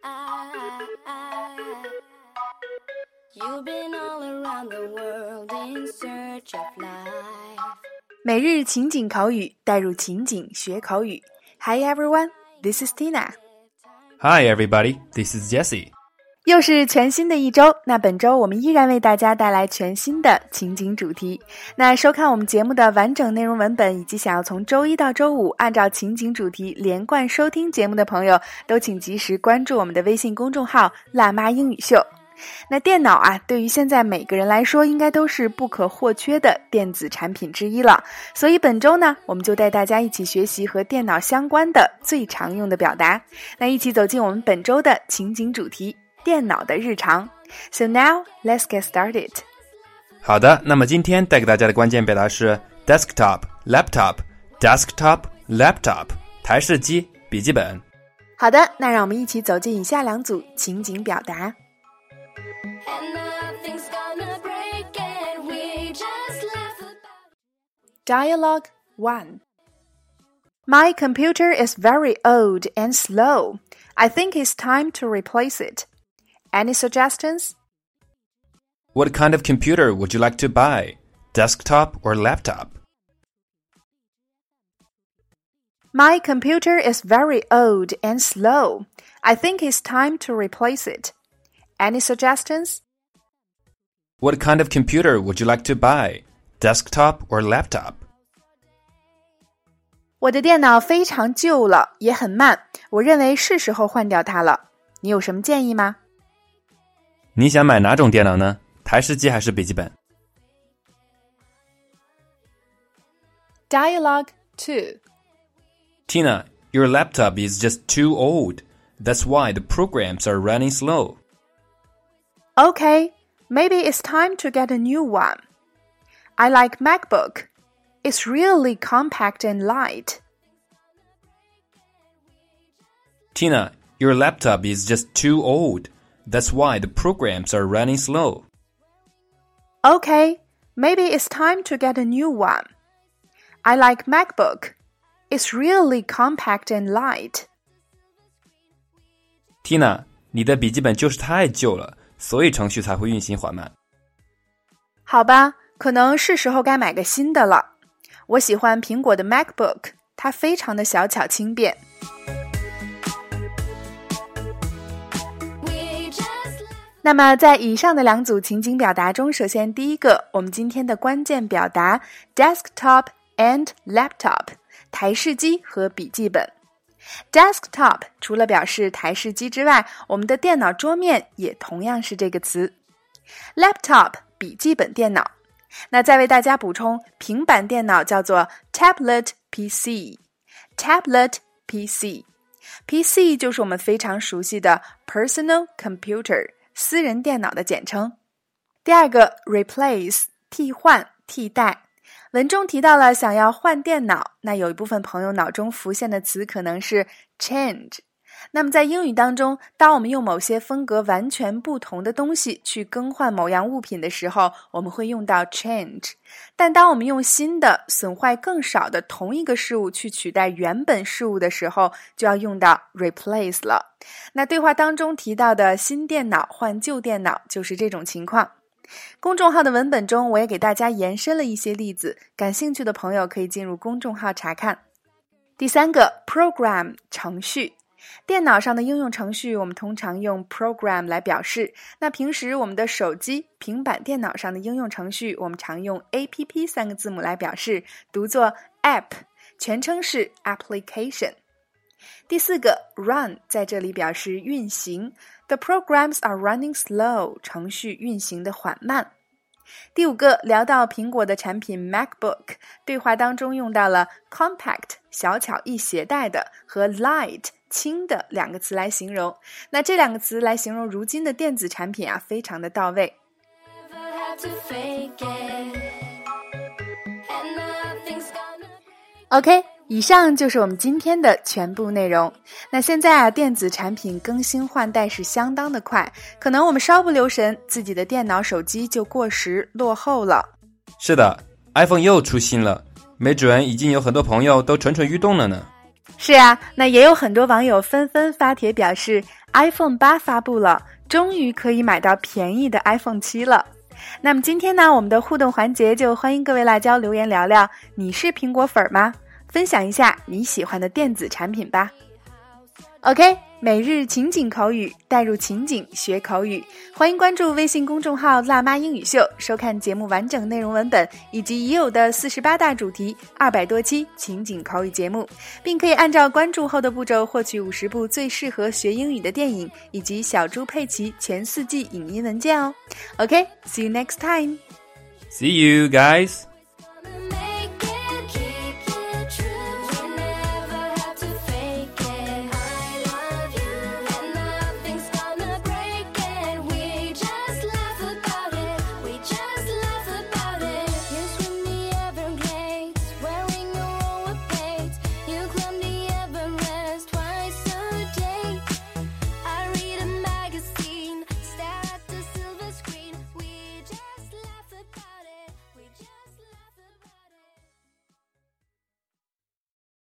You've been all around the world in search of life. 每日情景口语，带入情景学口语。Hi everyone, this is Tina. Hi everybody, this is Jesse. 又是全新的一周，那本周我们依然为大家带来全新的情景主题。那收看我们节目的完整内容文本，以及想要从周一到周五按照情景主题连贯收听节目的朋友，都请及时关注我们的微信公众号辣妈英语秀。那电脑啊，对于现在每个人来说应该都是不可或缺的电子产品之一了，所以本周呢，我们就带大家一起学习和电脑相关的最常用的表达。那一起走进我们本周的情景主题，电脑的日常。So now, let's get started. 好的，那么今天带给大家的关键表达是 desktop, laptop, desktop, laptop, 台式机、笔记本。 好的，那让我们一起走进以下两组情景表达。 And nothing's gonna break and we just laugh about. Dialogue 1. My computer is very old and slow. I think it's time to replace it. Any suggestions? What kind of computer would you like to buy? Desktop or laptop? My computer is very old and slow. I think it's time to replace it. Any suggestions? What kind of computer would you like to buy? Desktop or laptop? 我的电脑非常旧了，也很慢，我认为是时候换掉它了。你有什么建议吗？ 你想买哪种电脑呢？台式机还是笔记本？ Dialogue 2. Tina, your laptop is just too old. That's why the programs are running slow. Okay, maybe it's time to get a new one. I like MacBook. It's really compact and light. Tina, your laptop is just too old. That's why the programs are running slow. Okay, maybe it's time to get a new one. I like MacBook. It's really compact and light. Tina, 你的笔记本就是太旧了，所以程序才会运行缓慢。 好吧，可能是时候该买个新的了。我喜欢苹果的 MacBook， 它非常的小巧轻便。那么在以上的两组情景表达中，首先第一个，我们今天的关键表达 desktop and laptop， 台式机和笔记本。Desktop 除了表示台式机之外，我们的电脑桌面也同样是这个词。Laptop 笔记本电脑。那再为大家补充，平板电脑叫做 tablet PC。Tablet PC。PC 就是我们非常熟悉的 personal computer， 私人电脑的简称。第二个 replace 替换替代。文中提到了想要换电脑，那有一部分朋友脑中浮现的词可能是 change。那么在英语当中，当我们用某些风格完全不同的东西去更换某样物品的时候，我们会用到 change。但当我们用新的、损坏更少的同一个事物去取代原本事物的时候，就要用到 replace 了。那对话当中提到的新电脑换旧电脑就是这种情况。公众号的文本中，我也给大家延伸了一些例子，感兴趣的朋友可以进入公众号查看。第三个 program 程序。电脑上的应用程序我们通常用 program 来表示，那平时我们的手机、平板电脑上的应用程序我们常用 app 三个字母来表示，读作 app， 全称是 application。第四个 run 在这里表示运行， The programs are running slow， 程序运行的缓慢。第五个聊到苹果的产品 MacBook， 对话当中用到了 compact 小巧易携带的和 light 轻的两个词来形容，那这两个词来形容如今的电子产品啊，非常的到位。OK， 以上就是我们今天的全部内容。那现在啊，电子产品更新换代是相当的快，可能我们稍不留神，自己的电脑、手机就过时落后了。 是的， iPhone 又出新了，没准已经有很多朋友都蠢蠢欲动了呢。 是啊，那也有很多网友纷纷发帖表示 iPhone 8发布了，终于可以买到便宜的 iPhone 7了。那么今天呢，我们的互动环节就欢迎各位辣椒留言聊聊，你是苹果粉吗？分享一下你喜欢的电子产品吧。OK， 每日情景口语，带入情景学口语，欢迎关注微信公众号辣妈英语秀，收看节目完整内容文本以及已有的48大主题200多期情景口语节目，并可以按照关注后的步骤获取50部最适合学英语的电影以及小猪佩奇全4季影音文件哦。OK，see you next time. See you guys.